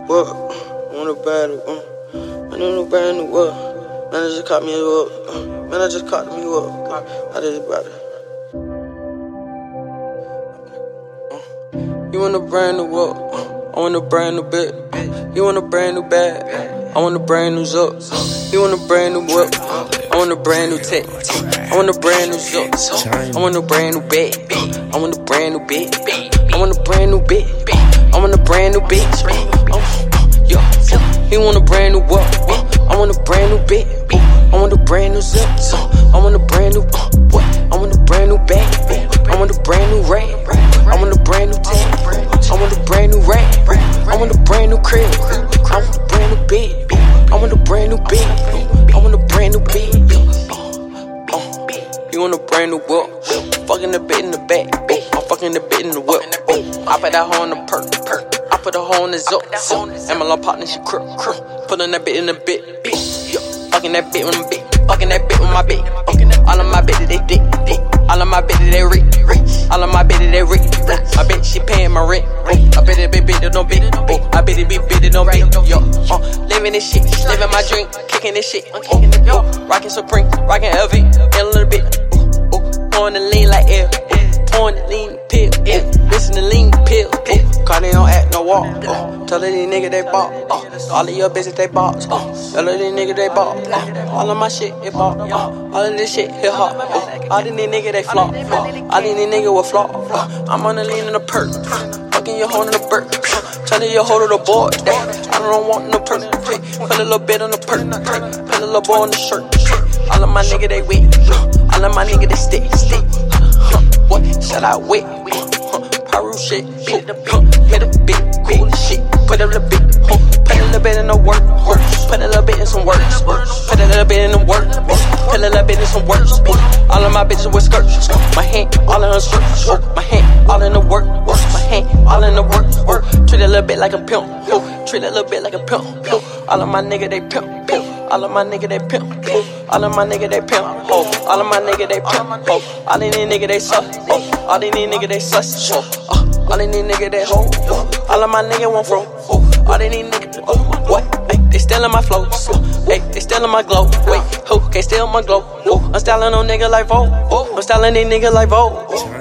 What? I want a brand new, I need a brand new what? Man, I just caught me up. Man, I just caught me up. I just brought it. You want a brand new what? I want a brand new bit. You want a brand new bag? I want a brand new zup. You want a brand new whip? I want a brand new tech. I want a brand new zup. I want a brand new bag. I want a brand new bit. I want a brand new bit. I want a brand new bitch. He want a brand new what? I want a brand new bit. I want a brand new zip. I want a brand new what? I want a brand new bag. I want a brand new rag. I want a brand new tag. I want a brand new rag. I want a brand new crib. I want a brand new bed. I want a brand new bed. I want a brand new bed. You want a brand new whip? Fucking the bit in the back. I'm fucking the bit in the whip. I put that hoe in the perk. I put a hoe in the zip. And my little partner, she crook. Putting that bit in the bit. Fucking that bit with my bit. Fucking that bit with my bit. All of my bitches, they dick. All of my bitches, they rich. All of my bitches, they rich. I bet she paying my rent. I bet it be bitch, don't bitch. I bet it be bitch, don't bitch. Yo, living this shit. Living my dream. Kicking this shit. Rockin' Supreme. Rockin' LV. A little bit. Pouring the lean like air. Pouring the lean pill. Listen to lean pill. Cause they don't act no walk. Tell her these niggas they bought. All of your bitches they bought. Tell her these niggas they bought. All of my shit it bought. All of this shit hit hot. All these niggas they flop. All these niggas will flop. I'm on the lean in the perk. Fucking your hoe in the burp. Tell her your hoe to the board. I don't want no perk. Put a little bit on the perk. Put a little boy on the shirt. All of my niggas they weak. All of my niggas they stick. What? Shout out wit. Paru shit. Hit a bit. Cool shit. Put a little bit. Put a little bit in the work. Put a little bit in some works. Put a little bit in the work. Put a little bit in some works. All of my bitches with skirts. My hand all in her skirts. My hand all in the work. My hand all in the work. Treat a little bit like a pimp. Treat a little bit like a pimp. All of my niggas they pimp. All of my niggas they pimp. All of my niggas they pimp. All of my niggas they pimp. All these niggas they suck. All these niggas they sus. All these niggas they hoe. All of my niggas won't fro. All these niggas what? They stealing my flows. They stealing my glow. Wait, who can't steal my glow? I'm styling on niggas like Vogue. I'm styling these niggas like Vogue.